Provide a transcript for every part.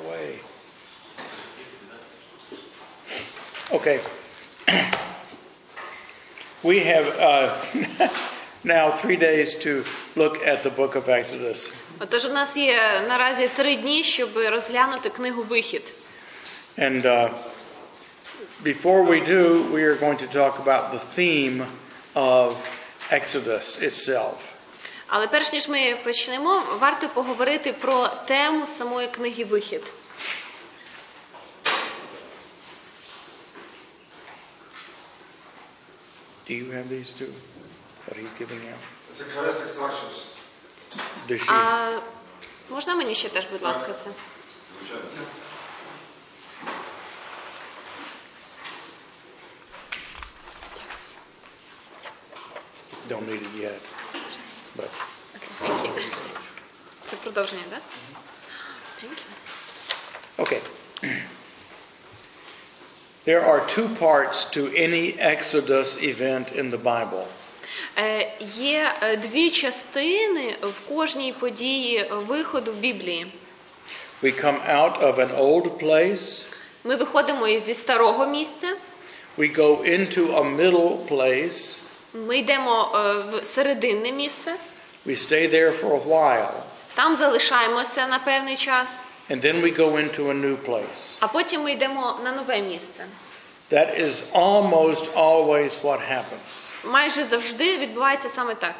away. Okay. We have now 3 days to look at the book of Exodus. Отож, у нас є наразі 3 дні, щоб розглянути книгу «Вихід». And before we do, we are going to talk about the theme of Exodus itself. Але перш ніж ми почнемо, варто поговорити про тему самої книги «Вихід». Do you have these two? What he's giving you? It's a classic Marshals. Does she? А можна мені ще теж, будь ласка, це? Don't need it yet. But Це продовження, так? okay. There are 2 parts to any Exodus event in the Bible. Є 2 частини в кожній події виходу в Біблії. We come out of an old place. Ми виходимо зі старого місця. We go into a middle place. Ми йдемо в серединне місце. We stay there for a while. Там залишаємося на певний час. And then we go into a new place. А потім ми йдемо на нове місце. That is almost always what happens. Майже завжди відбувається саме так.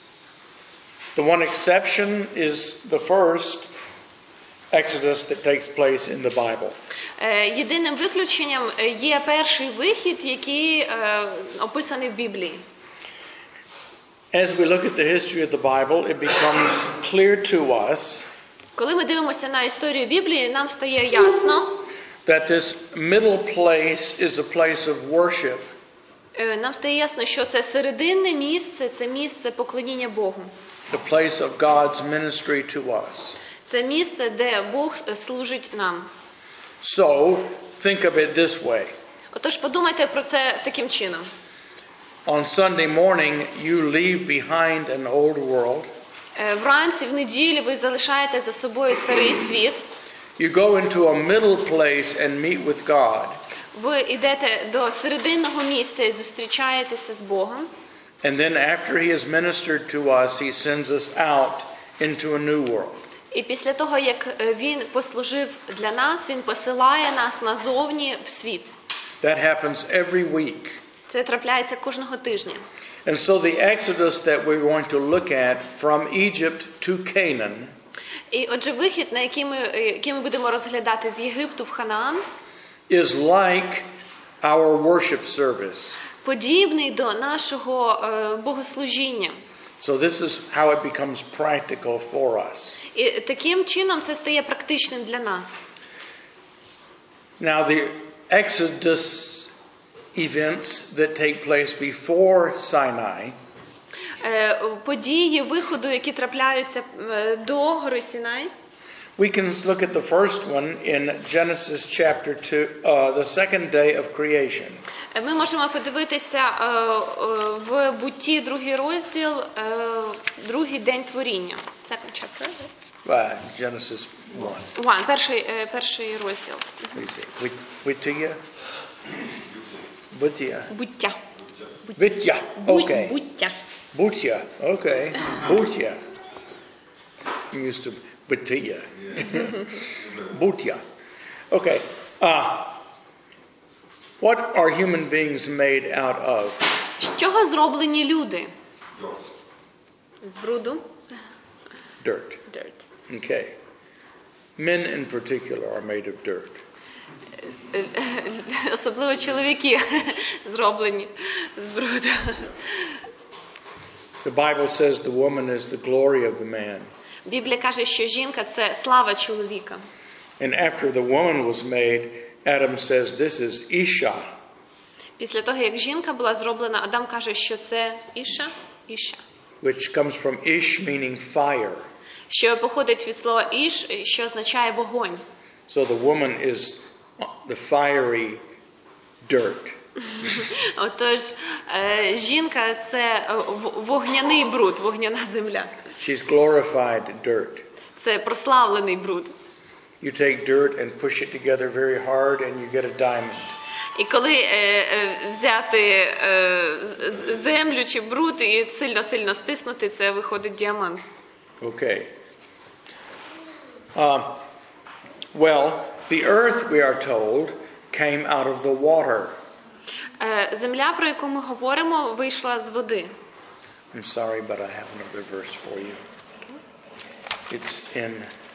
The one exception is the first Exodus that takes place in the Bible. Єдиним виключенням є перший вихід, який описаний в Біблії. As we look at the history of the Bible, it becomes clear to us Коли ми дивимося на історію Біблії, нам стає ясно, that this middle place is a place of worship. Нам стає ясно, що це серединне місце, це місце поклоніння Богу. The place of God's ministry to us. Це місце, де Бог служить нам. So, think of it this way. Отож, подумайте про це таким чином. On Sunday morning, you leave behind an old world. Вранці, в неділю ви залишаєте за собою старий світ. You go into a middle place and meet with God. Ви йдете до серединного місця і зустрічаєтеся з Богом. And then after he has ministered to us, he sends us out into a new world. І після того, як він послужив для нас, він посилає нас назовні в світ. That happens every week. Це трапляється кожного тижня. And so the Exodus that we're going to look at from Egypt to Canaan І отже, вихід, який ми будемо розглядати з Єгипту в Ханаан, is like our worship service. подібний до нашого богослужіння. So this is how it becomes practical for us. І таким чином це стає практичним для нас. Now the Exodus events that take place before Sinai Події виходу, які трапляються до гори Сінай. We can look at the first one in Genesis chapter 2, the second day of creation. Ми можемо подивитися в Бутті, 2 розділ, другий день творіння. Second chapter, yes? Genesis 1. Перший розділ. Wittia? Butia. Буття. Vitya. Okay. Буття. Butya. Okay. Butya. I'm used to Butia. Butya. Okay. What are human beings made out of? З чого зроблені люди? З бруду? Dirt. Dirt. Okay. Men in particular are made of dirt. Особливо чоловіки зроблені з бруду. The Bible says the woman is the glory of the man. Біблія каже, що жінка – це слава чоловіка. And after the woman was made, Adam says this is Isha. Після того, як жінка була зроблена, Адам каже, що це Іша. Which comes from Ish, meaning fire. Що походить від слова Іш, що означає вогонь. So the woman is the fiery dirt. Отож, жінка – це вогняний бруд, вогняна земля. She's glorified dirt. Це прославлений бруд. you take dirt and push it together very hard and you get a diamond. І коли взяти землю чи бруд і сильно-сильно стиснути, це виходить діамант. Okay. Well, the earth, we are told, came out of the water. Земля, про яку ми говоримо, вийшла з води. I'm sorry, but I have another verse for you. It's in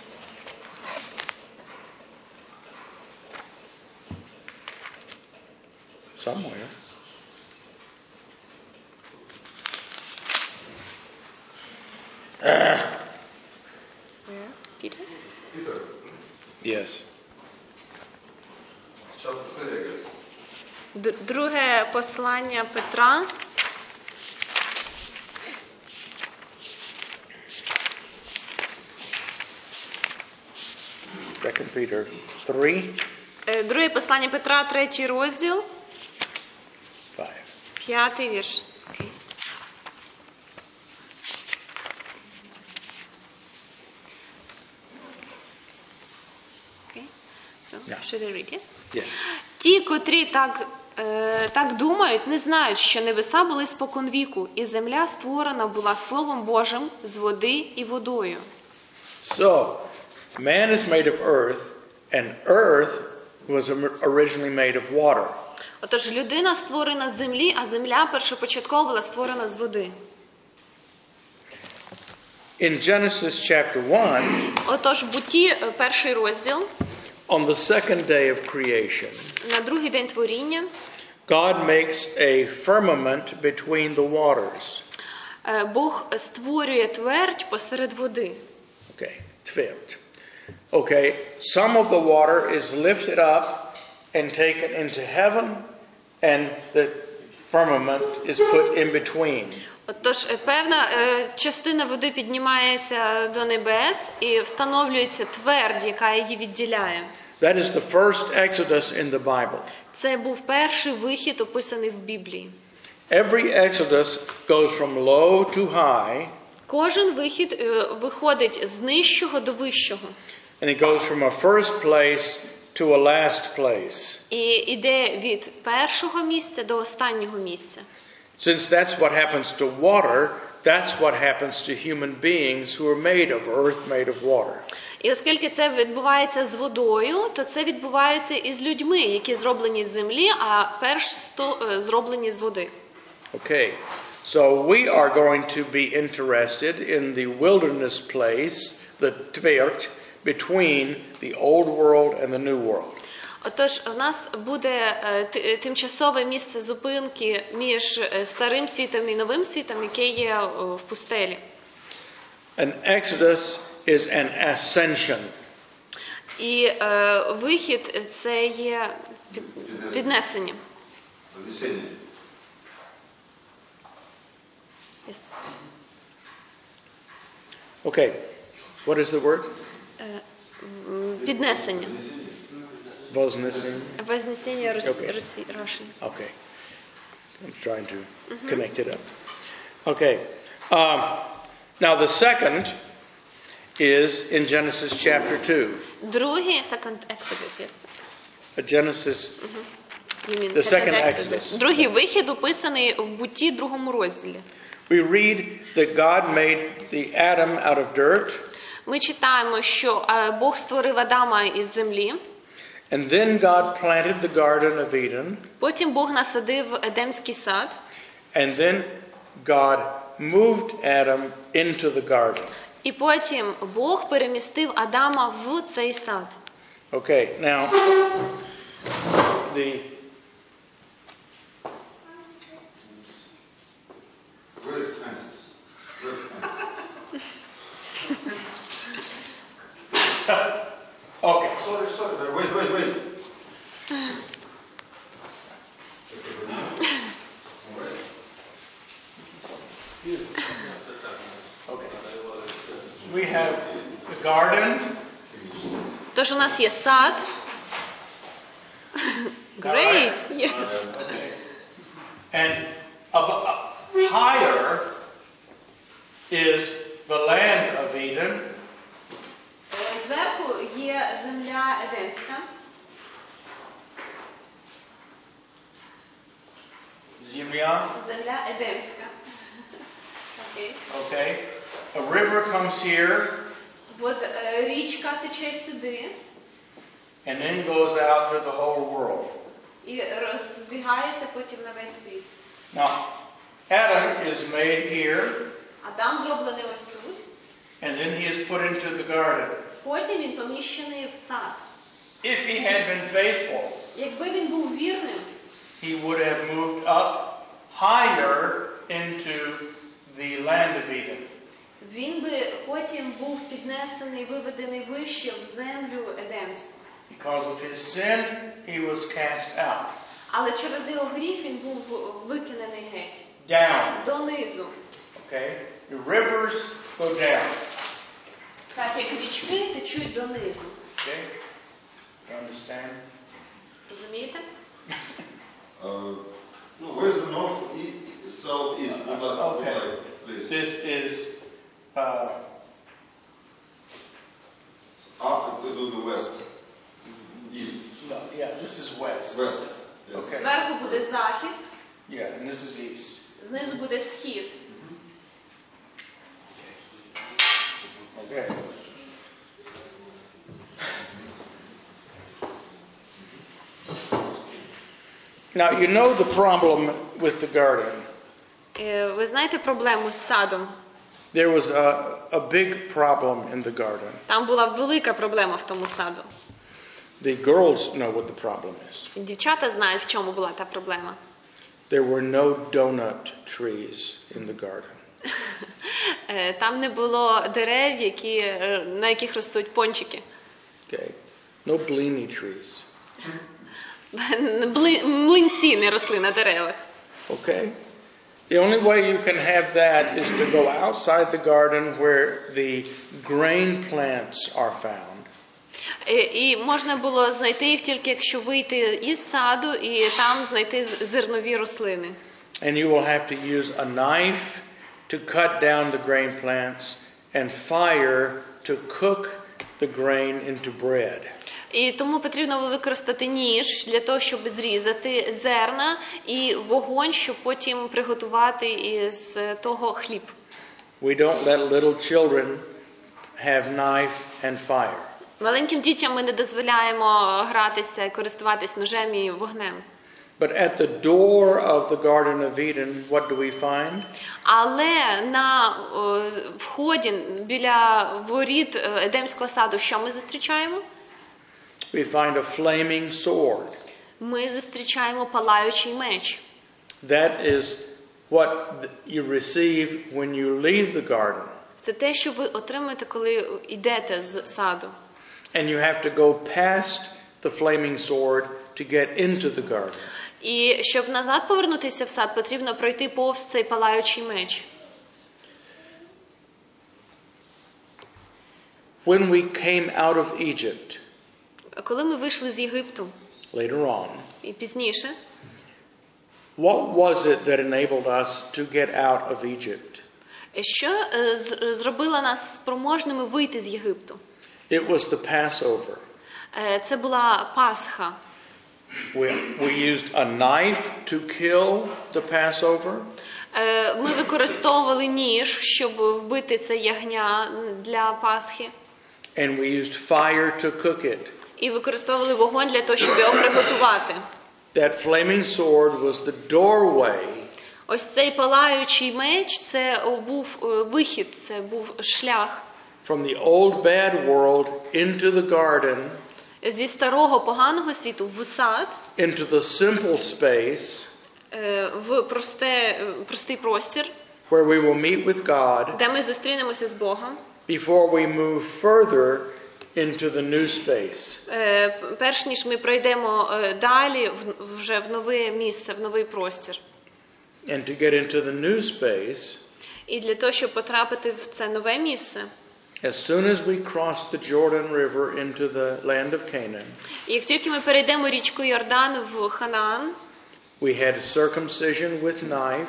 somewhere. Peter? Yes. Друге послання Петра. Second Peter 3. Друге послання Петра, 3 розділ, 5. 5 вірш. Okay. So, should I read, yes? Yes. Ті, котрі так думають, не знають, що небеса були споконвіку, і земля створена була Словом Божим з води і водою. So, man is made of earth, and earth was originally made of water. Отож, людина створена з землі, а земля першопочатково була створена з води. In Genesis chapter 1, Отож, Бутті, 1 розділ, on the second day of creation, на другий день творіння, God makes a firmament between the waters. Бог створює твердь посеред води. Okay, tvirt. Okay, some of the water is lifted up and taken into heaven, and the firmament is put in between. Отож, певна частина води піднімається до небес і встановлюється твердь, яка її відділяє. That is the first Exodus in the Bible. Це був перший вихід, описаний в Біблії. Every Exodus goes from low to high, Кожен вихід виходить з нижчого до вищого. and it goes from a first place to a last place. І йде від першого місця до останнього місця. Since that's what happens to water, that's what happens to human beings who are made of earth, made of water. І оскільки це відбувається з водою, то це відбувається і з людьми, які зроблені з землі, а перш зроблені з води. Okay, so we are going to be interested in the wilderness place, the tvirt, between the old world and the new world. Отож, у нас буде тимчасове місце зупинки між старим світом і новим світом, яке є в пустелі. An exodus is an ascension. І вихід – це є піднесення. Yes. Okay, what is the word? Піднесення. Voznessing. Вознесення Okay. Russian. Okay, I'm trying to connect it up. Okay, now the second is in Genesis chapter 2. Другий, second Exodus, yes. Genesis, You mean the second Exodus. Другий вихід описаний в Бутті, 2 розділі. We read that God made the Adam out of dirt, Ми читаємо, що Бог створив Адама із землі, and then God planted the Garden of Eden, потім Бог насадив Едемський сад, and then God moved Adam into the garden. і потім Бог перемістив Адама в цей сад. Okay, now the okay. Sorry, wait. Okay. We have the garden. Тож у нас є сад. Great, yes. And higher is the land of Eden. Зверху є земля Едемська. Земля. Земля Едемська. Окей. Okay. A river comes here От річка тече сюди and then goes out to the whole world. і розбігається потім на весь світ. Now, Adam is made here, Адам зроблений ось тут, and then he is put into the garden. потім він поміщений в сад. If he had been faithful, Якби він був вірним, he would have moved up higher into the land of Eden. він би потім був піднесений, виведений вище в землю Едемську. Because of his sin, he was cast out. Але через його гріх він був викинений геть. Down. Донизу. Okay? The rivers go down. Так як річки течуть донизу. Okay? You understand? Розумієте? Where's the north, south, east? Okay. Please. This is After to the west. East. no, yeah, this is west. West. Yes. Okay. Зверху буде захід, Yeah, and this is east. знизу буде схід. Okay. Now you know the problem with the garden. Ви знаєте проблему з садом? There was a big problem in the garden. Там була велика проблема в тому саду. The girls know what the problem is. Дівчата знають, в чому була та проблема. There were no donut trees in the garden. Там не було дерев, на яких ростуть пончики. Okay. No blini trees. Млинці не росли на деревах. Okay. The only way you can have that is to go outside the garden where the grain plants are found. І можна було знайти їх тільки, якщо вийти із саду і там знайти зернові рослини. And you will have to use a knife to cut down the grain plants and fire to cook the grain into bread. І тому потрібно використати ніж для того, щоб зрізати зерна, і вогонь, щоб потім приготувати із того хліб. We don't let little children have knife and fire. Маленьким дітям ми не дозволяємо гратися, користуватись ножем і вогнем. But at the door of the Garden of Eden, what do we find? Але на вході біля воріт Едемського саду що ми зустрічаємо? We find a flaming sword. Ми зустрічаємо палаючий меч. That is what you receive when you leave the garden. Це те, що ви отримуєте, коли йдете з саду. And you have to go past the flaming sword to get into the garden. І щоб назад повернутися в сад, потрібно пройти повз цей палаючий меч. When we came out of Egypt, Коли ми вийшли з Єгипту, later on, і пізніше, what was it that enabled us to get out of Egypt? що зробило нас спроможними вийти з Єгипту? It was the Passover. Це була Пасха. We used a knife to kill the Passover. Ми використовували ніж, щоб вбити це ягня для Пасхи. And we used fire to cook it. І використовували вогонь для того, щоб його приготувати. That flaming sword was the doorway Ось цей палаючий меч, це був вихід, це був шлях. from the old bad world into the garden, Зі старого поганого світу в сад, into the simple space в простий простір, where we will meet with God де ми зустрінемося з Богом, before we move further into the new space. перш ніж ми пройдемо далі вже в нове місце, в новий простір. And to get into the new space, І для того, щоб потрапити в це нове місце, as soon as we cross the Jordan River into the land of Canaan, як тільки ми перейдемо річку Йордан в Ханаан, we had circumcision with knife,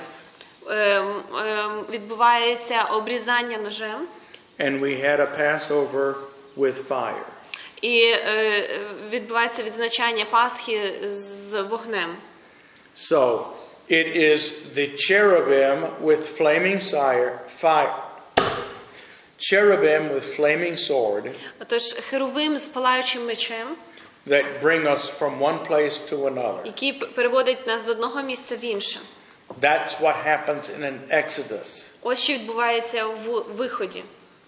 відбувається обрізання ножем, and we had a Passover with fire. І відбувається відзначання Пасхи з вогнем. So, it is the cherubim with flaming fire. Cherubim with flaming sword Отож, херувим з палаючим мечем, that bring us from one place to another. який переводить нас з одного місця в інше. That's what happens in an Exodus. Ось що відбувається в виході.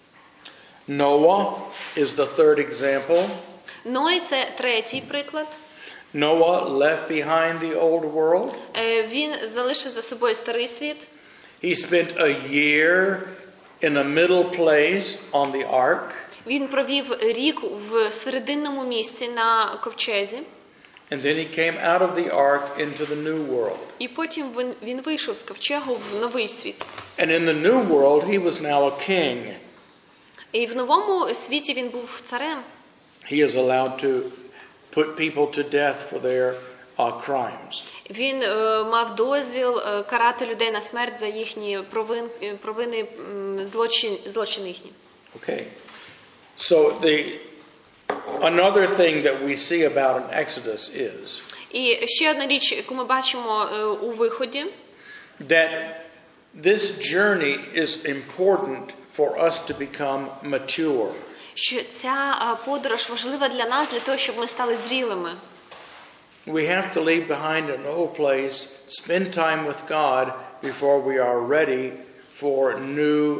Noah is the third example. Ной – це третій приклад. Noah left behind the old world. Він залишив за собою старий світ. He spent a year in a middle place on the ark. Він провів рік в серединному місці на ковчезі. And then he came out of the ark into the new world. І потім він вийшов з ковчегу в новий світ. And in the new world, he was now a king. І в новому світі він був царем. He is allowed to put people to death for their crimes. Він мав дозвіл карати людей на смерть за їхні провини, злочини їхні. Okay. So another thing that we see about an Exodus is І ще одна річ, яку ми бачимо у виході, that this journey is important for us to become mature. що ця подорож важлива для нас, для того, щоб ми стали зрілими. We have to leave behind an old place, spend time with God before we are ready for new,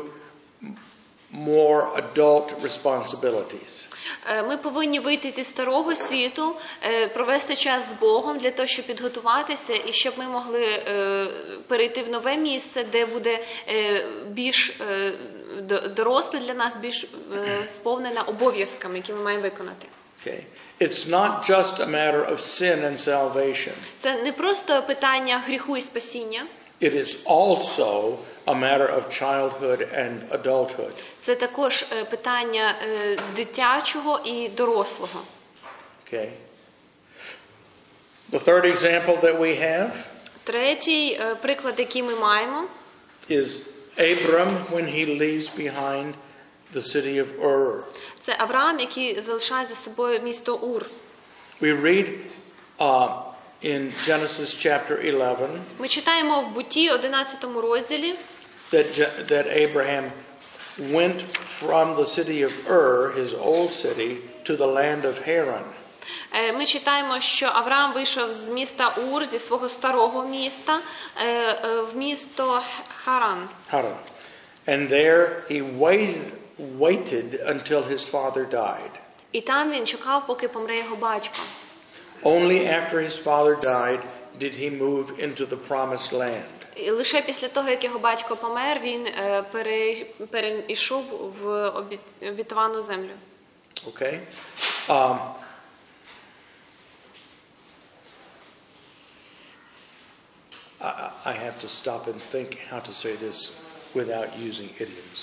more adult responsibilities. Ми повинні вийти зі старого світу, провести час з Богом для того, щоб підготуватися і щоб ми могли перейти в нове місце, де буде більш доросле для нас, більш сповнене обов'язками, які ми маємо виконати. Okay. It's not just a matter of sin and salvation. Це не просто питання гріху і спасіння. It is also a matter of childhood and adulthood. Це також питання дитячого і дорослого. Okay. The third example that we have Третій приклад, який ми маємо, is Abram when he leaves behind the city of Ur. це Авраам, який залишає за собою місто Ур. We read in Genesis chapter 11 Ми читаємо в Бутті 11 розділі, that Abraham went from the city of Ur, his old city, to the land of Haran. Ми читаємо, що Авраам вийшов з міста Ур, зі свого старого міста, в місто Харан. And there he waited until his father died. І там він чекав, поки помре його батько. Only after his father died did he move into the promised land. І лише після того, як його батько помер, він перейшов в обітовану землю. Okay? I have to stop and think how to say this without using idioms.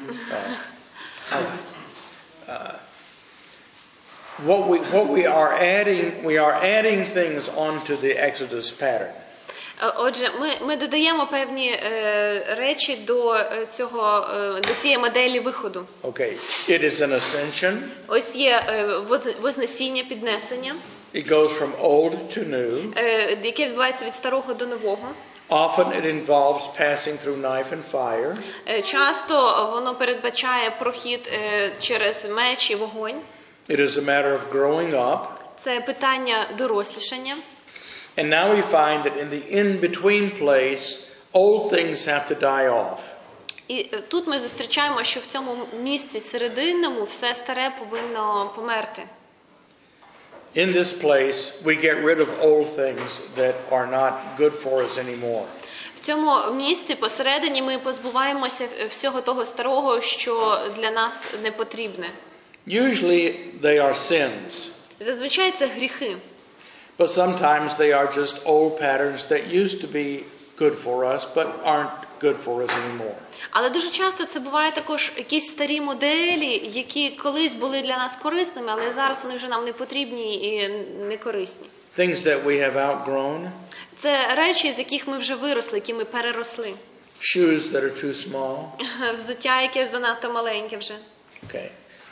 What we are adding things onto the Exodus pattern. Отже, ми додаємо певні речі до цієї моделі виходу. Okay, it is an ascension. Ось є вознесіння, піднесення. It goes from old to new. Яке відбувається від старого до нового. Often it involves passing through knife and fire. Часто воно передбачає прохід через меч і вогонь. It is a matter of growing up. Це питання дорослішання. And now we find that in the in-between place, old things have to die off. І тут ми зустрічаємо, що в цьому місці серединному все старе повинно померти. In this place, we get rid of old things that are not good for us anymore. В цьому місці посередині ми позбуваємося всього того старого, що для нас не потрібне. Usually they are sins. Зазвичай це гріхи. But sometimes they are just old patterns that used to be good for us but aren't good for us anymore. Але дуже часто це буває також якісь старі моделі, які колись були для нас корисними, але зараз вони вже нам не потрібні і не корисні. Things that we have outgrown. Це речі, з яких ми вже виросли, які ми переросли. Shoes that are too small. Взуття, яке ж занадто маленьке вже. Okay.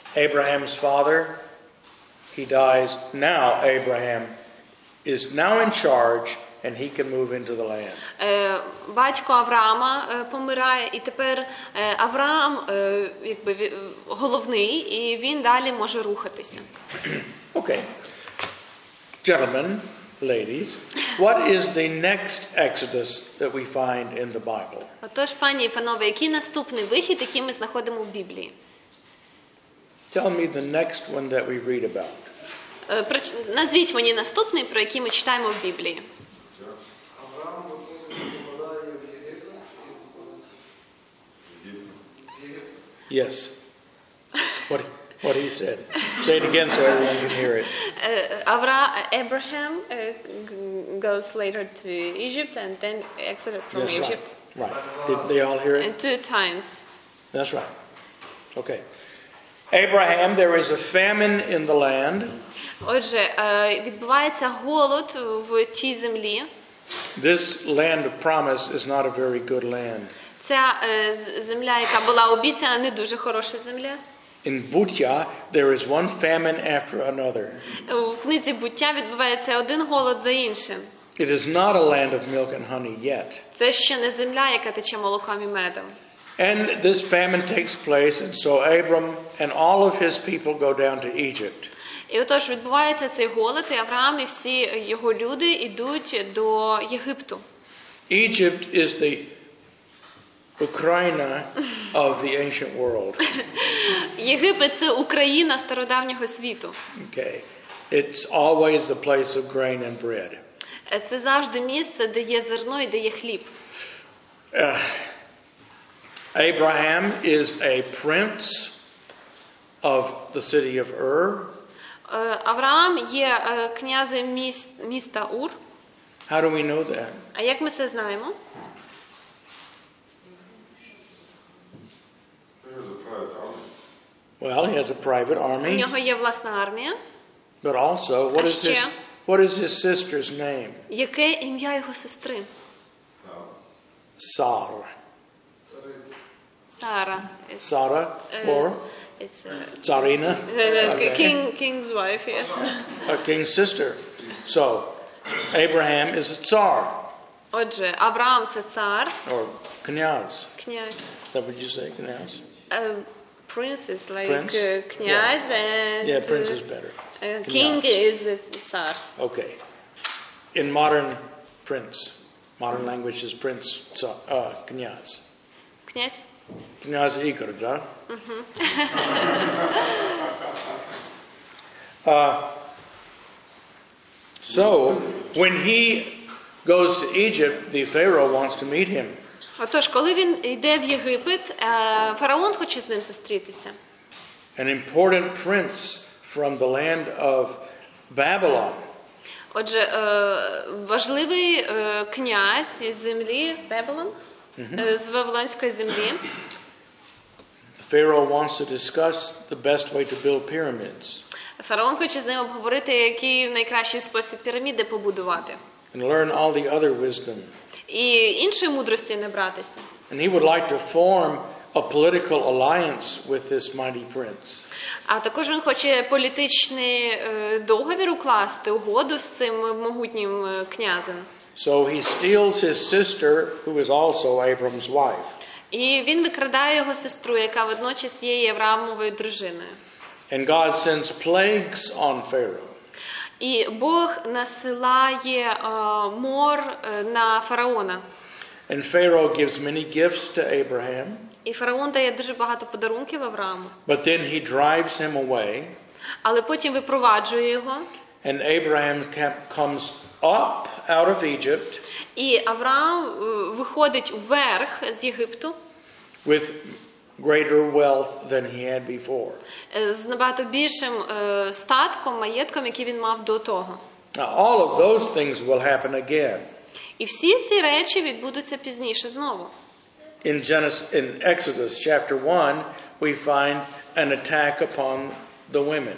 Abraham's father, he dies. Now Abraham is now in charge and he can move into the land. Батько Авраама помирає, і тепер Авраам якби головний, і він далі може рухатися. Okay. Gentlemen, ladies, what is the next Exodus that we find in the Bible? Отож, пані і панове, який наступний вихід, який ми знаходимо в Біблії? Tell me the next one that we read about. Назвіть мені наступний, про який ми читаємо в Біблії. Авраам попадає в Єгипет і виходить з Єгипту. Yes. What he said. Say it again so everyone can hear it. Abraham goes later to Egypt and then Exodus from That's Egypt. Right. Did they all hear it? And 2 times. That's right. Okay. Abraham, there is a famine in the land. Отже, відбувається голод в тій землі. This land of promise is not a very good land. Ця земля, яка була обіцяна, не дуже хороша земля. In Butya, there is one famine after another. В книзі Буття відбувається один голод за іншим. It is not a land of milk and honey yet. Це ще не земля, яка тече молоком і медом. And this famine takes place, and so Abram and all of his people go down to Egypt. І отож відбувається цей голод, і Авраам і всі його люди йдуть до Єгипту. Egypt is the Ukraine of the ancient world. Єгипет – це Україна стародавнього світу. Okay. It's always the place of grain and bread. Це завжди місце, де є зерно і де є хліб. Abraham is a prince of the city of Ur. Авраам є князем міста Ур. How do we know that? А як ми це знаємо? There's a private army. Well, he has a private У army, нього є власна армія. but also, what is his sister's name? Яке ім'я його сестри? South. Sarah. Сара. Sarah or It's Tsarina? Okay. King's wife, yes. A king's sister. So, Abraham is a tsar Отже, Авраам – це цар, or knyaz. князь. Is that what you say, knyaz? Prince is like Prince? князь, and Yeah, prince is better. king is цар. Okay. In modern modern language is prince, knyaz. Князь. Knyaz Igor, да? So, when he goes to Egypt, the Pharaoh wants to meet him. Отож, коли він йде в Єгипет, фараон хоче з ним зустрітися. An important prince from the land of Babylon. Отже, важливий князь із землі Babylon, з Вавилонської землі. The Pharaoh wants to discuss the best way to build pyramids Фараон хоче з ним обговорити, який найкращий спосіб піраміди побудувати. and learn all the other wisdom. І іншої мудрості не братися. And he would like to form a political alliance with this mighty prince. А також він хоче політичний договір укласти, угоду з цим могутнім князем. So he steals his sister, who is also Abram's wife. І він викрадає його сестру, яка водночас є Авраамовою дружиною. And God sends plagues on Pharaoh. І Бог насилає мор на фараона. And Pharaoh gives many gifts to Abraham. І фараон дає дуже багато подарунків Аврааму. But then he drives him away. Але потім випроваджує його. And Abraham comes up out of Egypt. І Авраам виходить вверх з Єгипту. With greater wealth than he had before. З набагато більшим статком, маєтком, який він мав до того. Now all of those things will happen again. І всі ці речі відбудуться пізніше знову. In Exodus chapter 1, we find an attack upon the women.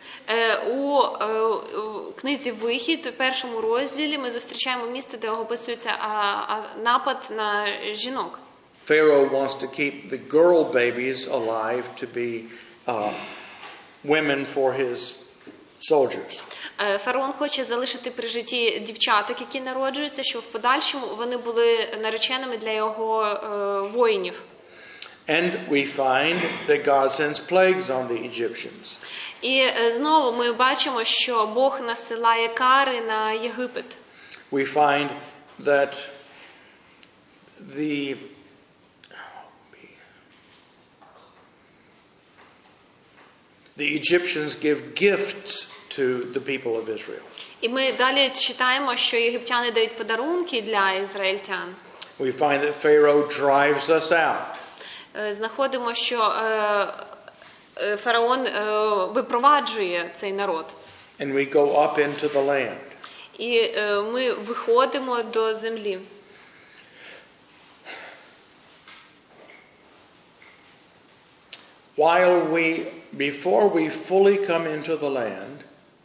У книзі «Вихід», в першому розділі, ми зустрічаємо місце, де описується напад на жінок. Pharaoh wants to keep the girl babies alive to be women for his soldiers. Фараон хоче залишити при житті дівчаток, які народжуються, щоб в подальшому вони були нареченими для його воїнів. And we find that God sends plagues on the Egyptians. І знову ми бачимо, що Бог насилає кари на Єгипет. We find that the Egyptians give gifts to the people of Israel. І ми далі читаємо, що єгиптяни дають подарунки для ізраїльтян. We find that Pharaoh drives us out. Знаходимо, що фараон випроваджує цей народ. And we go up into the land. І ми виходимо до землі. Before we fully come into the land,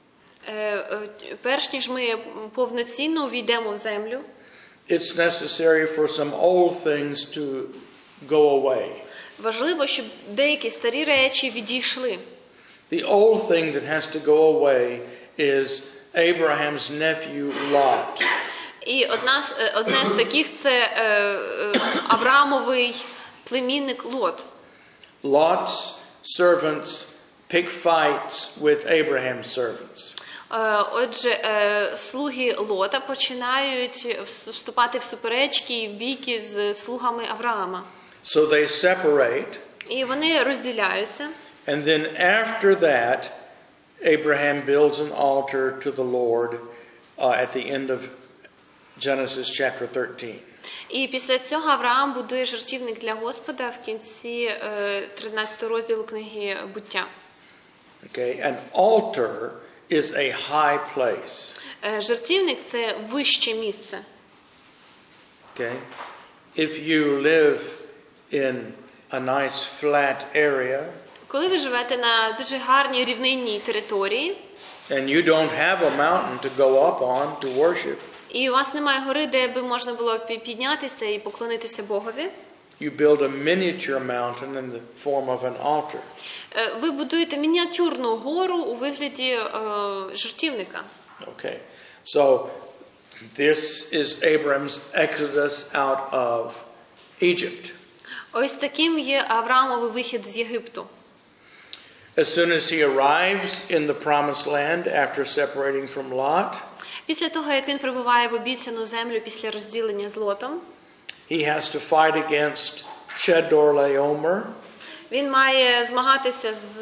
перш ніж ми повноцінно увійдемо в землю, it's necessary for some old things to go away. Важливо, щоб деякі старі речі відійшли. The old thing that has to go away is Abraham's nephew Lot. І одне з таких це Авраамовий племінник Лот. Lot's servants pick fights with Abraham's servants. Отже, слуги Лота починають вступати в суперечки і бійки з слугами Авраама. So they separate. І вони розділяються. And then after that, Abraham builds an altar to the Lord at the end of Genesis chapter 13. І після цього Авраам будує жертівник для Господа в кінці 13 розділу книги Буття. Okay, an altar is a high place. Жертівник – це вище місце. Okay, if you live in a nice flat area, коли ви живете на дуже гарній рівнинній території, and you don't have a mountain to go up on to worship, і у вас немає гори, де би можна було піднятися і поклонитися Богові, you build a miniature mountain in the form of an altar. Ви будуєте мініатюрну гору у вигляді жертівника. Okay, so this is Abram's exodus out of Egypt. Ось таким є Авраамовий вихід з Єгипту. As soon as he arrives in the promised land after separating from Lot, після того, як він прибуває в обіцяну землю після розділення з Лотом, he has to fight against Chedorlaomer. Він має змагатися з...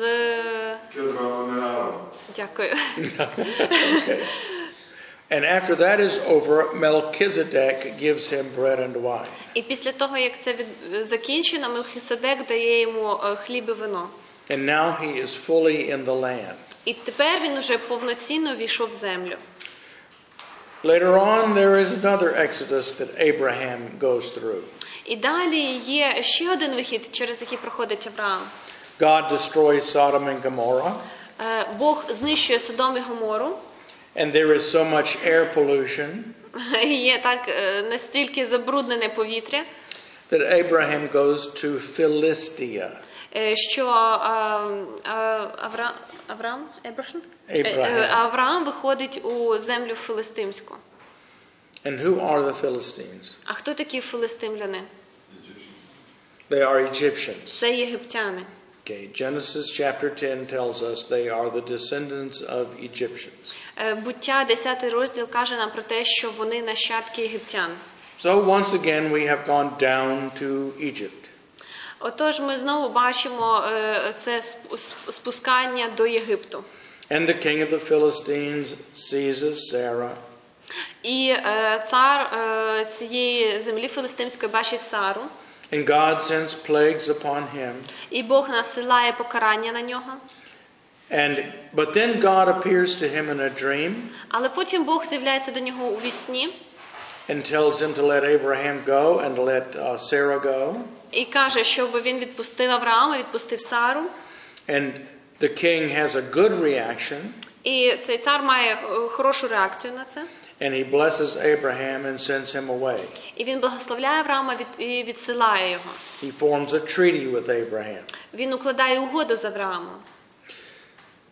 Дякую. Okay. And after that is over, Melchizedek gives him bread and wine. І після того, як це закінчено, Мелхиседек дає йому хліб і вино. And now he is fully in the land. І тепер він уже повноцінно війшов в землю. Later on, there is another exodus that Abraham goes through. І далі є ще один вихід, через який проходить Авраам. God destroys Sodom and Gomorrah. Бог знищує Содом і Гомору. And there is so much air pollution. Є так настільки забруднене повітря, that Abraham goes to Philistia. Що Авраам виходить у землю филистимську. And who are the Philistines? А хто такі филистимляни? They are Egyptians. Це єгиптяни. Okay, Genesis chapter 10 tells us they are the descendants of Egyptians. Буття 10 розділ каже нам про те, що вони нащадки єгиптян. So once again we have gone down to Egypt. Отож ми знову бачимо це спускання до Єгипту. And the king of the Philistines seizes Sarah. І цар цієї землі филистимської бачить Сару. And God sends plagues upon him. І Бог насилає покарання на нього. But then God appears to him in a dream. Але потім Бог з'являється до нього у вісні. And tells him to let Abraham go and to let Sarah go. І каже, щоб він відпустив Авраама, відпустив Сару. And the king has a good reaction. І цей цар має хорошу реакцію на це. And he blesses Abraham and sends him away. І він благословляє Авраама і відсилає його. He forms a treaty with Abraham. Він укладає угоду з Авраамом.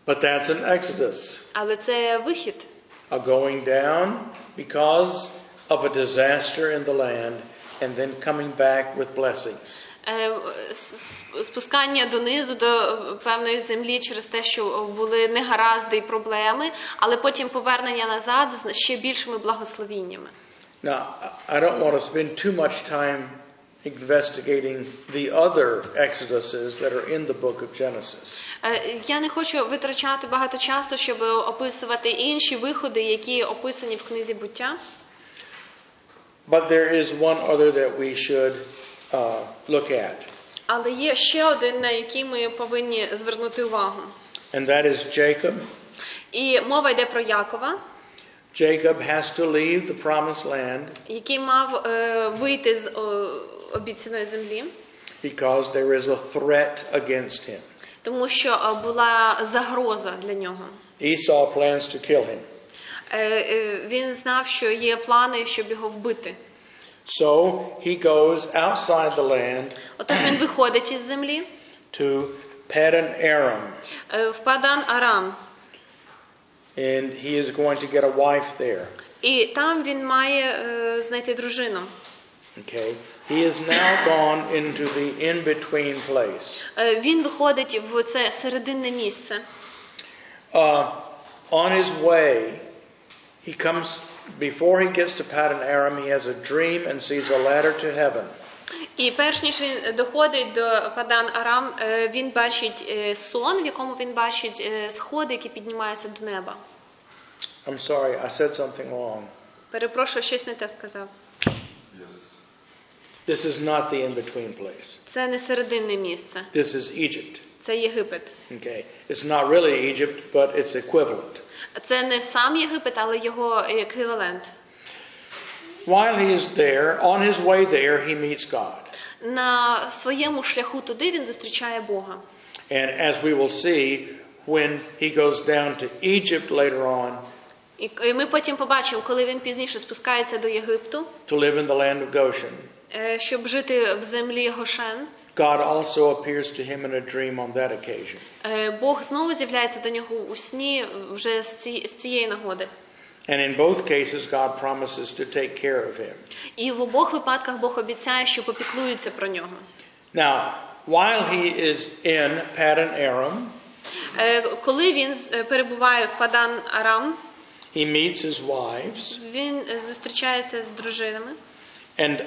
But that's an exodus, Але це вихід. a going down because of a disaster in the land and then coming back with blessings. Спускання донизу до певної землі через те, що були негаразди і проблеми, але потім повернення назад з ще більшими благословіннями. Now, I don't want to spend too much time investigating the other exoduses that are in the book of Genesis. Я не хочу витрачати багато часу, щоб описувати інші виходи, які описані в книзі Буття. But there is one other that we should look at. Але є ще один, на який ми повинні звернути увагу. And that is Jacob. І мова йде про Якова, Jacob has to leave the promised land який мав вийти з обіцяної землі, because there is a threat against him. тому що була загроза для нього. Esau plans to kill him. Він знав, що є плани, щоб його вбити. So he goes outside the land Отож він виходить із землі to Paddan Aram, в Падан Арам. and he is going to get a wife there. І там він має знайти дружину. Okay. He is now gone into the in-between place. Він виходить в це серединне місце. On his way, he comes, before he gets to Paddan Aram, he has a dream and sees a ladder to heaven. І перш ніж він доходить до Падан Арам, він бачить сон, в якому він бачить сходи, які піднімаються до неба. I'm sorry, I said something wrong. Перепрошую, щось не те сказав. Yes. This is not the in-between place. Це не серединне місце, This is Egypt. це Єгипет. Okay. It's not really Egypt, but it's equivalent. Це не сам Єгипет, але його еквівалент. While he is there, on his way there, he meets God. На своєму шляху туди він зустрічає Бога. And as we will see, when he goes down to Egypt later on, І ми потім побачимо, коли він пізніше спускається до Єгипту, to live in the land of Goshen, щоб жити в землі Гошен, God also appears to him in a dream on that occasion. Бог знову з'являється до нього у сні вже з цієї нагоди. And in both cases, God promises to take care of him. І в обох випадках Бог обіцяє, що попіклується про нього. Now, while he is in Paddan Aram, Коли він перебуває в Падан Арам, he meets his wives, він зустрічається з дружинами. and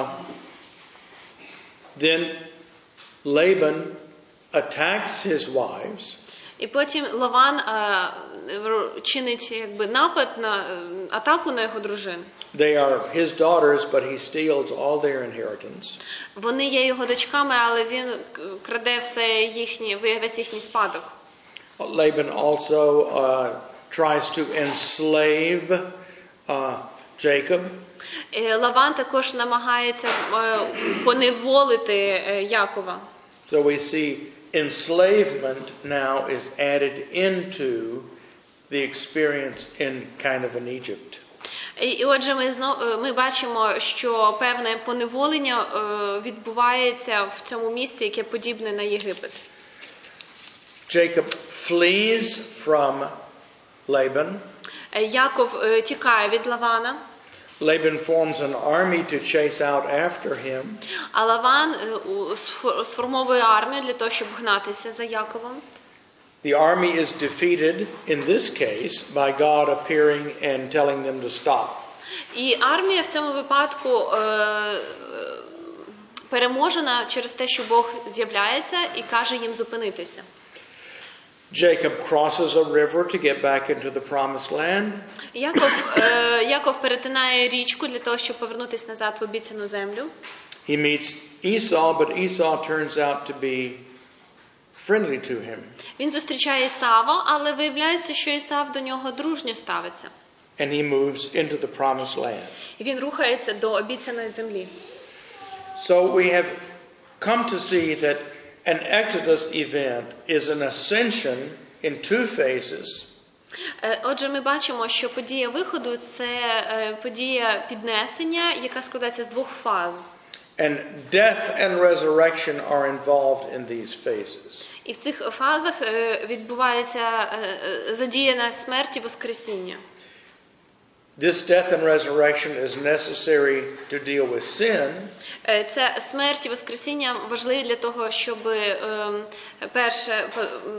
then Laban attacks his wives. І потім Лаван чинить напад на атаку на його дружин. They are his daughters, but he steals all their inheritance. Вони є його дочками, але він краде весь їхній спадок. Laban also tries to enslave Jacob. Лаван також намагається поневолити Якова. So we see enslavement now is added into the experience in kind of an Egypt. І отже, ми бачимо, що певне поневолення відбувається в цьому місці, яке подібне на Єгипет. Jacob flees from Laban. Яков тікає від Лавана. Laban forms an army to chase out after him. А Лаван сформовує армію для того, щоб гнатися за Яковом. The army is defeated in this case by God appearing and telling them to stop. І армія в цьому випадку переможена через те, що Бог з'являється і каже їм зупинитися. Jacob crosses a river to get back into the promised land. Яков перетинає річку для того, щоб повернутися назад в обіцяну землю. He meets Esau, but Esau turns out to be friendly to him. Він зустрічає Ісава, але виявляється, що Ісав до нього дружньо ставиться. And he moves into the promised land. І він рухається до обіцяної землі. So we have come to see that an Exodus event is an ascension in two phases. Отже, ми бачимо, що подія виходу – це подія піднесення, яка складається з двох фаз. And death and resurrection are involved in these phases. І в цих фазах відбувається задіяна смерть і воскресіння. This death and resurrection is necessary to deal with sin, Це смерть і воскресіння важливі для того, щоб перше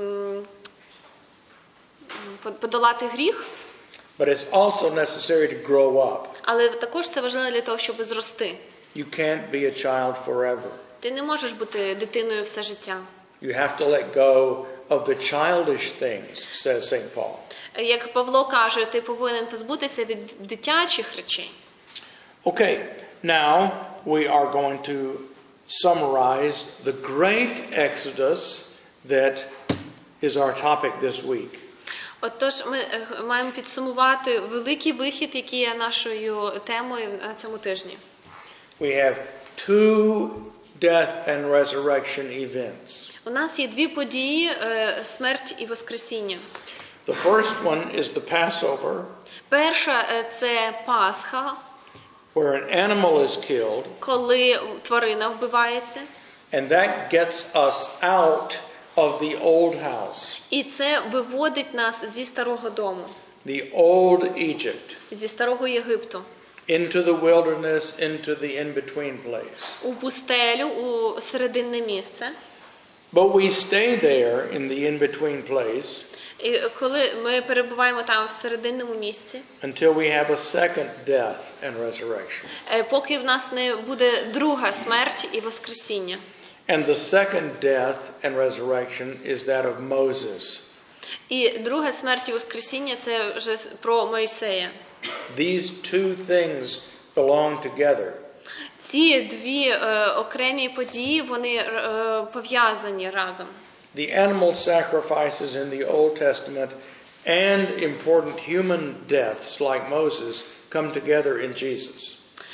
подолати гріх, but it's also necessary to grow up. але також це важливо для того, щоб зрости. You can't be a child forever. Ти не можеш бути дитиною все життя. You have to let go of the childish things, says St. Paul. Як Павло каже, ти повинен позбутися від дитячих речей. Okay, now we are going to summarize the great exodus that is our topic this week. Отож, ми маємо підсумувати великий вихід, який є нашою темою на цьому тижні. We have two death and resurrection events. У нас є дві події – смерть і воскресіння. The first one is the Passover, Перша – це Пасха, where an animal is killed, коли тварина вбивається. and that gets us out of the old house, І це виводить нас зі старого дому, the old Egypt, зі старого Єгипту, into the wilderness, into the in-between place. у пустелю, у серединне місце. But we stay there in the in-between place І коли ми перебуваємо там в серединному місці, until we have a second death and resurrection. поки в нас не буде друга смерть і воскресіння. And the second death and resurrection is that of Moses. І друга смерть і воскресіння – це вже про Мойсея. These two things belong together. Ці дві окремі події, вони пов'язані разом. The animal sacrifices in the Old Testament and important human deaths like Moses come together in Jesus.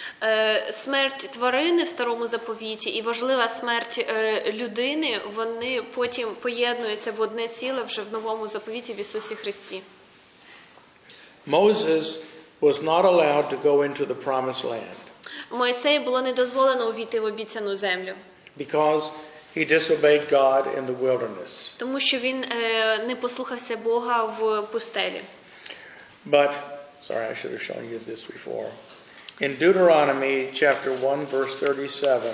Смерть тварини в Старому Заповіті і важлива смерть людини, вони потім поєднуються в одне ціле вже в Новому Заповіті в Ісусі Христі. Moses was not allowed to go into the promised land Мойсею було не дозволено увійти в обіцяну землю, because he disobeyed God in the wilderness. тому що він не послухався Бога в пустелі. But, sorry, I should have shown you this before. In Deuteronomy chapter 1 verse 37,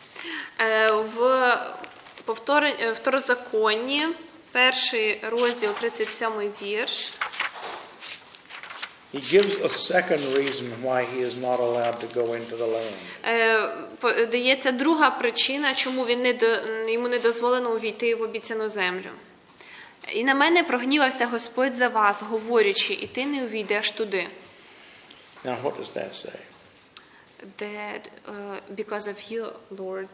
В Второзаконні, перший розділ, 37 вірш, he gives a second reason why he is not allowed to go into the land. Дається друга причина, чому йому не дозволено увійти в обіцяну землю. «І на мене прогнівався Господь за вас, говорячи, і ти не увійдеш туди». Now what does that say? That because of you, Lord,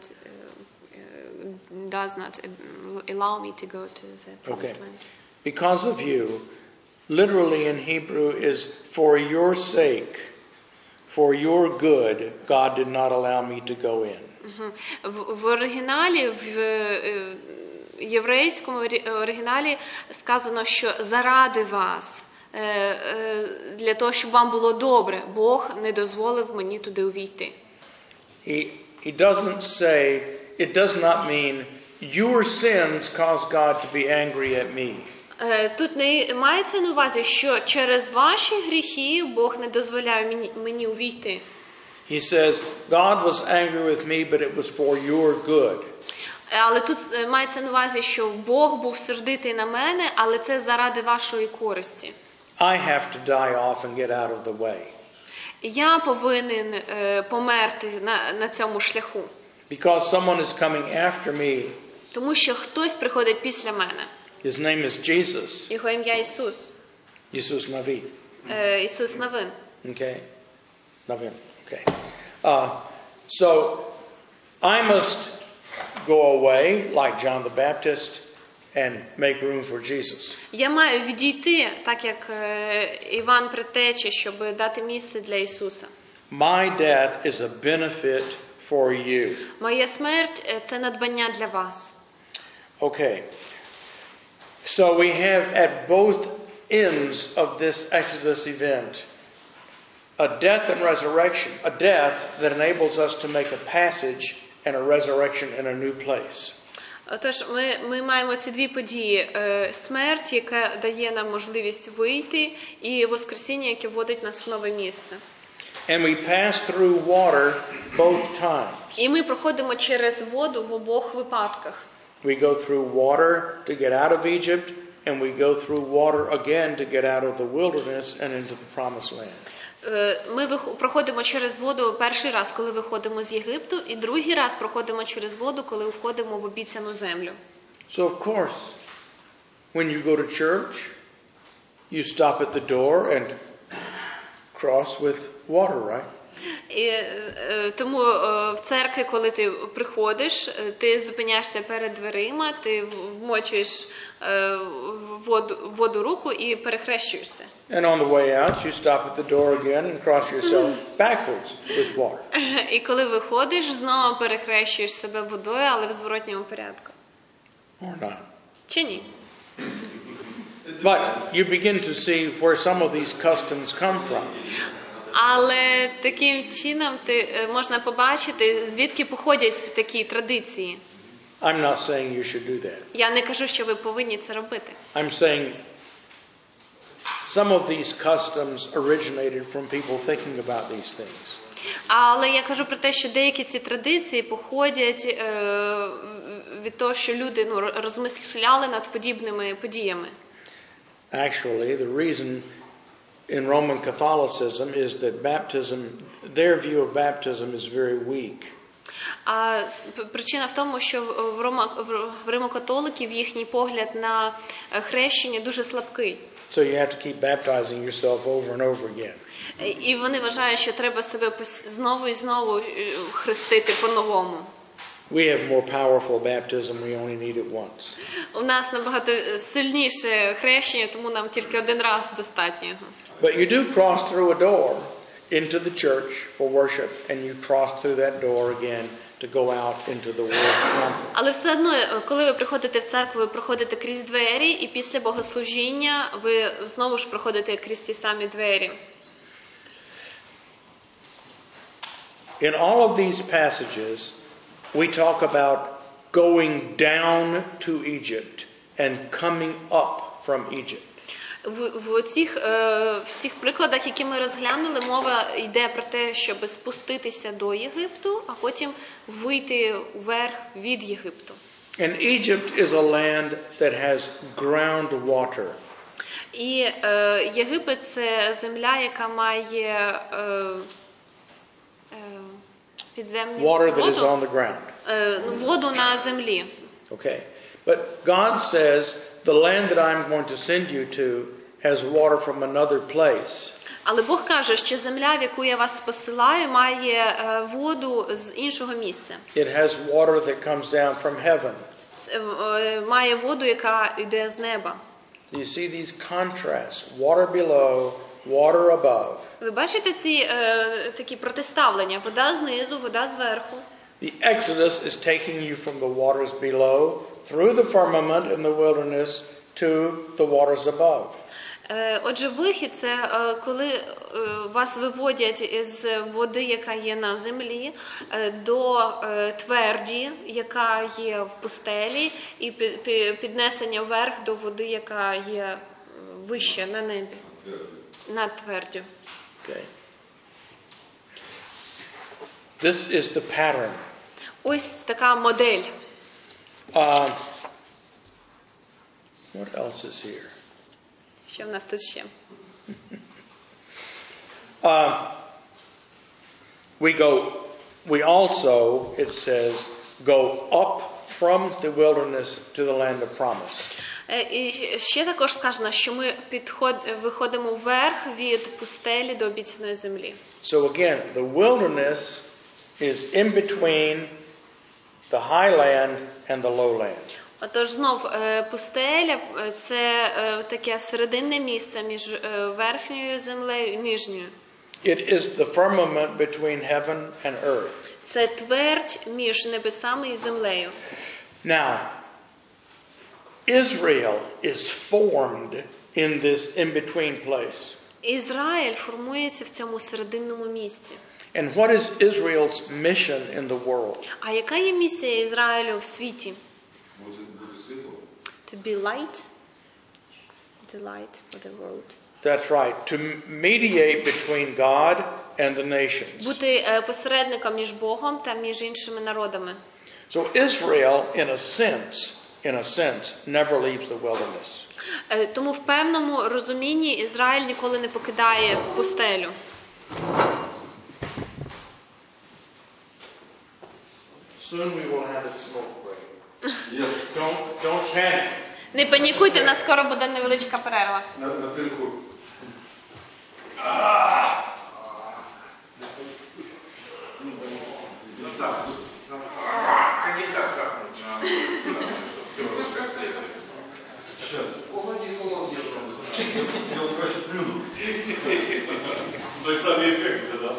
does not allow me to go to the promised land. Because of you, literally in Hebrew is for your sake, for your good, God did not allow me to go in. В оригіналі, в єврейському оригіналі сказано, що заради вас, для того, щоб вам було добре, Бог не дозволив мені туди увійти. He doesn't say, it does not mean your sins cause God to be angry at me. Тут не мається на увазі, що через ваші гріхи Бог не дозволяє мені увійти. He says, God was angry with me, but it was for your good. Але тут мається на увазі, що Бог був сердитий на мене, але це заради вашої користі. I have to die off and get out of the way. Я повинен померти на цьому шляху. Because someone is coming after me. Тому що хтось приходить після мене. His name is Jesus. Його ім'я Ісус. Jesus Navi. Ісус Навин. Okay? Navin. Okay. So I must go away like John the Baptist and make room for Jesus. Я маю відійти, так як Іван Предтеча, щоб дати місце для Ісуса. My death is a benefit for you. Моя смерть – це надбання для вас. Okay. So we have at both ends of this Exodus event a death and resurrection, a death that enables us to make a passage and a resurrection in a new place. Отож, ми маємо ці дві події: смерть, яка дає нам можливість вийти, і воскресіння, яке вводить нас в нове місце. And we pass through water both times. І ми проходимо через воду в обох випадках. We go through water to get out of Egypt, and we go through water again to get out of the wilderness and into the promised land. Ми проходимо через воду перший раз, коли виходимо з Єгипту, і другий раз проходимо через воду, коли входимо в обіцяну землю. So of course, when you go to church, you stop at the door and cross with water, right? І тому в церкві, коли ти приходиш, ти зупиняєшся перед дверима, ти вмочуєш воду руку і перехрещуєшся. And on the way out, you stop at the door again and cross yourself backwards with water. І коли виходиш, знову перехрещуєш себе водою, але в зворотньому порядку. Or not. Чи ні? But you begin to see where some of these customs come from. Але таким чином можна побачити, звідки походять такі традиції. I'm not saying you should do that. Я не кажу, що ви повинні це робити. I'm saying some of these customs originated from people thinking about these things. Але я кажу про те, що деякі ці традиції походять від того, що люди розмисляли над подібними подіями. Actually, the reason in Roman Catholicism is that baptism, their view of baptism is very weak. А причина в тому, що в римокатоликів їхній погляд на хрещення дуже слабкий. So you have to keep baptizing yourself over and over again. І вони вважають, що треба себе знову і знову хрестити по-новому. We have more powerful baptism, we only need it once. У нас набагато сильніше хрещення, тому нам тільки один раз достатньо. But you do cross through a door into the church for worship, and you cross through that door again to go out into the world temple. Але все одно, коли ви приходите в церкву, ви проходите крізь двері, і після богослужіння ви знову ж проходите крізь ті самі двері. In all of these passages, we talk about going down to Egypt and coming up from Egypt. В цих всіх прикладах, які ми розглянули, мова йде про те, щоб спуститися до Єгипту, а потім вийти вверх від Єгипту. And Egypt is a land that has groundwater. І Єгипет – це земля, яка має підземну Water that is воду, on the ground. Воду на землі. Okay. But God says, the land that I'm going to send you to has water from another place. Але Бог каже, що земля, в яку я вас посилаю, має воду з іншого місця. It has water that comes down from heaven. Має воду, яка йде з неба. You see these contrasts, water below, water above. Ви бачите ці такі протиставлення? Вода знизу, вода зверху. The Exodus is taking you from the waters below, through the firmament in the wilderness, to the waters above. Отже, вихід – це коли вас виводять із води, яка є на землі, до тверді, яка є в пустелі, і піднесення вверх до води, яка є вище на небі, над твердю. Okay. This is the pattern. Ось така модель. What else is here? Що в нас тут ще? We also, it says, go up from the wilderness to the land of promise. І ще також сказано, що ми виходимо вверх від пустелі до обіцяної землі. So again, the wilderness is in between the high land and the low land. Отож, знов, пустеля – це таке серединне місце між верхньою землею і нижньою. It is the firmament between heaven and earth. Це твердь між небесами і землею. Now, Israel is formed in this in-between place. Ізраїль формується в цьому серединному місці. And what is Israel's mission in the world? А яка є місія Ізраїлю в світі? Бути світлом. To be light. The light of the world. That's right. To mediate between God and the nations. Бути посередником між Богом та між іншими народами. So Israel, in a sense, never leaves the wilderness. Тому в певному розумінні Ізраїль ніколи не покидає пустелю. Soon we will have a smoke break. Yes. Don't panic. Не панікуйте, в нас скоро буде невеличка перерва. На пильку. Я вот проще плюну. Той самый эффект, да?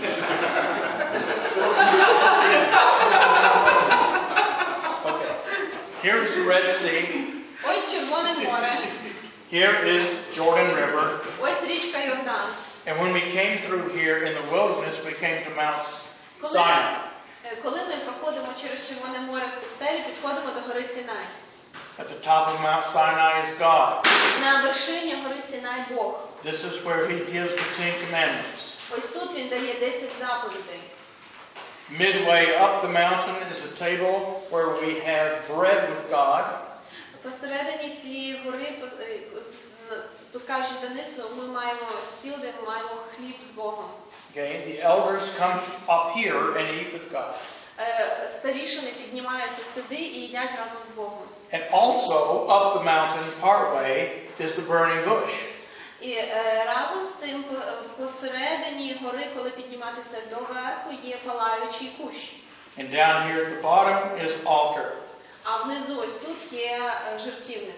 Okay. Here is the Red Sea. Ось Червоне море, Here is Jordan River. ось річка Йордан. And when we came through here in the wilderness, we came to Mount Sinai. Коли ми проходимо через Червоне море в пустелі, підходимо до гори Синай. At the top of Mount Sinai is God. На вершині гори Синай Бог. This is where He gives the Ten Commandments. Ось тут він дає 10 заповідей. Midway up the mountain is a table where we have bread with God. Посередині цієї гори, спускаючись донизу, ми маємо стіл, де ми маємо хліб з Богом. Okay, the elders come up here and eat with God. Старішини піднімаються сюди і їдять разом з Богом. And also up the mountain partway is the burning bush. І разом з тим посередині гори, коли підніматися доверху, є палаючий кущ. And down here at the bottom is altar. А внизу ось тут є жертівник.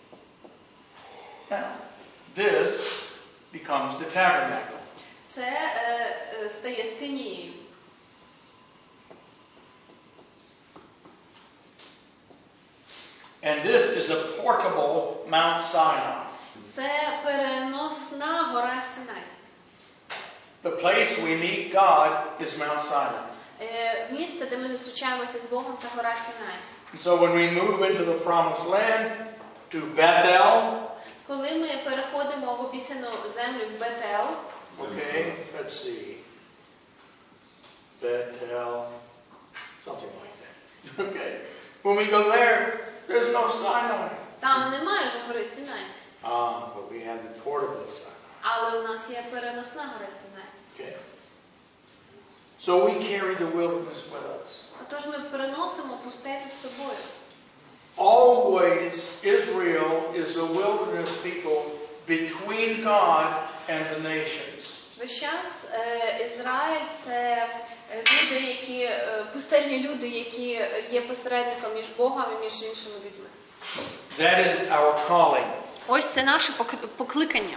Now, this becomes the tabernacle. Це стає скинією. And this is a portable Mount Sinai. Це переносна гора Синай. The place we meet God is Mount Sinai. Місце, де ми зустрічаємося з Богом, це гора Синай. And so when we move into the promised land, to Bethel, Коли ми переходимо в обіцяну землю в Бетел, okay, let's see, Bethel, something like that. Okay, when we go there, there's no Sinai. там немає вже гори Синай, But we have the portable Sinai. але у нас є переносна гора Синай. Okay. So we carry the wilderness with us. Отож ми переносимо пустелю з собою. Always Israel is a wilderness people between God and the nations. Весь час Ізраїль – це люди, які пустельні люди, які є посередником між Богом і між іншими людьми. That is our calling. Ось це наше покликання.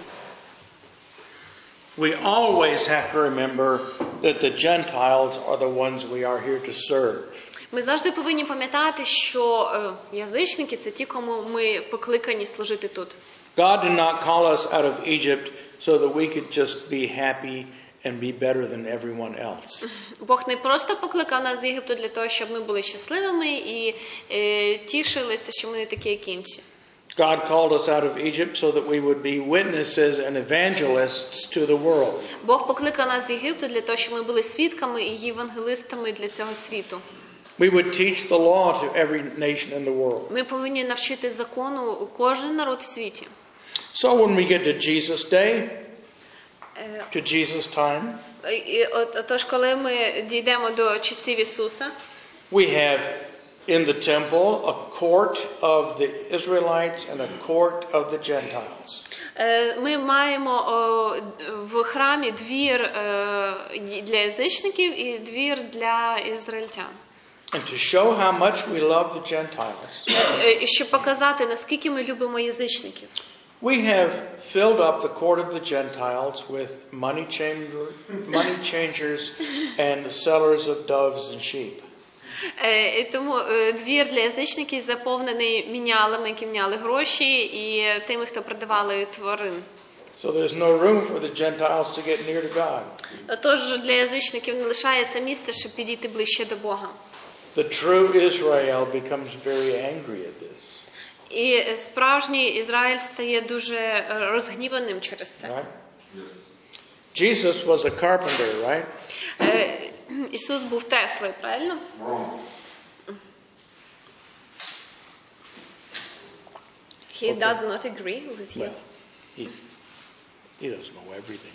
We always have to remember that the Gentiles are the ones we are here to serve. Ми завжди повинні пам'ятати, що язичники – це ті, кому ми покликані служити тут. God did not call us out of Egypt so that we could just be happy and be better than everyone else. Бог не просто покликав нас з Єгипту для того, щоб ми були щасливими і тішилися, що ми не такі, як інші. God called us out of Egypt so that we would be witnesses and evangelists to the world. Бог покликав нас з Єгипту для того, щоб ми були свідками і євангелистами для цього світу. We would teach the law to every nation in the world. Ми повинні навчити закону кожен народ в світі. So when we get to Jesus' day, to Jesus' time, Отож, коли ми дійдемо до часів Ісуса, we have in the temple a court of the Israelites and a court of the Gentiles. ми маємо в храмі двір для язичників і двір для ізраїльтян. And to show how much we love the Gentiles, І щоб показати, наскільки ми любимо язичників. we have filled up the court of the Gentiles with money changers and sellers of doves and sheep. І тому двір для язичників заповнений мінялами, які міняли гроші, і тими, хто продавали тварин. So there's no room for the Gentiles to get near to God. Тож для язичників не лишається місця, щоб підійти ближче до Бога. The true Israel becomes very angry at this. І справжній Ізраїль стає дуже розгніваним через це. Right? Yes. Jesus was a carpenter, right? Ісус був Теслою, правильно? Wrong. He does not agree with you. Well, he doesn't know everything.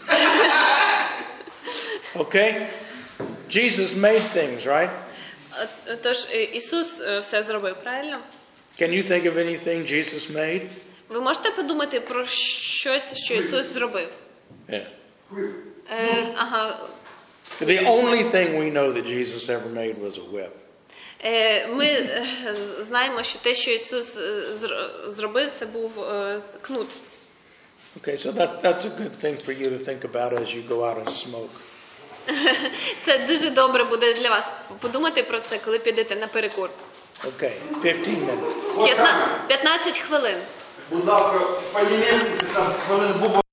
Okay? Jesus made things, right? Тож Ісус все зробив, правильно? Can you think of anything Jesus made? Ви можете подумати про щось, що Ісус зробив? Yeah. Ага. The only thing we know that Jesus ever made was a whip. Ми знаємо, що те, що Ісус зробив, це був кнут. Okay, so that's a good thing for you to think about as you go out and smoke. Це дуже добре буде для вас подумати про це, коли підете на перекур. Okay, 15 minutes. 15 хвилин. Будь ласка, по-німецьки 15 хвилин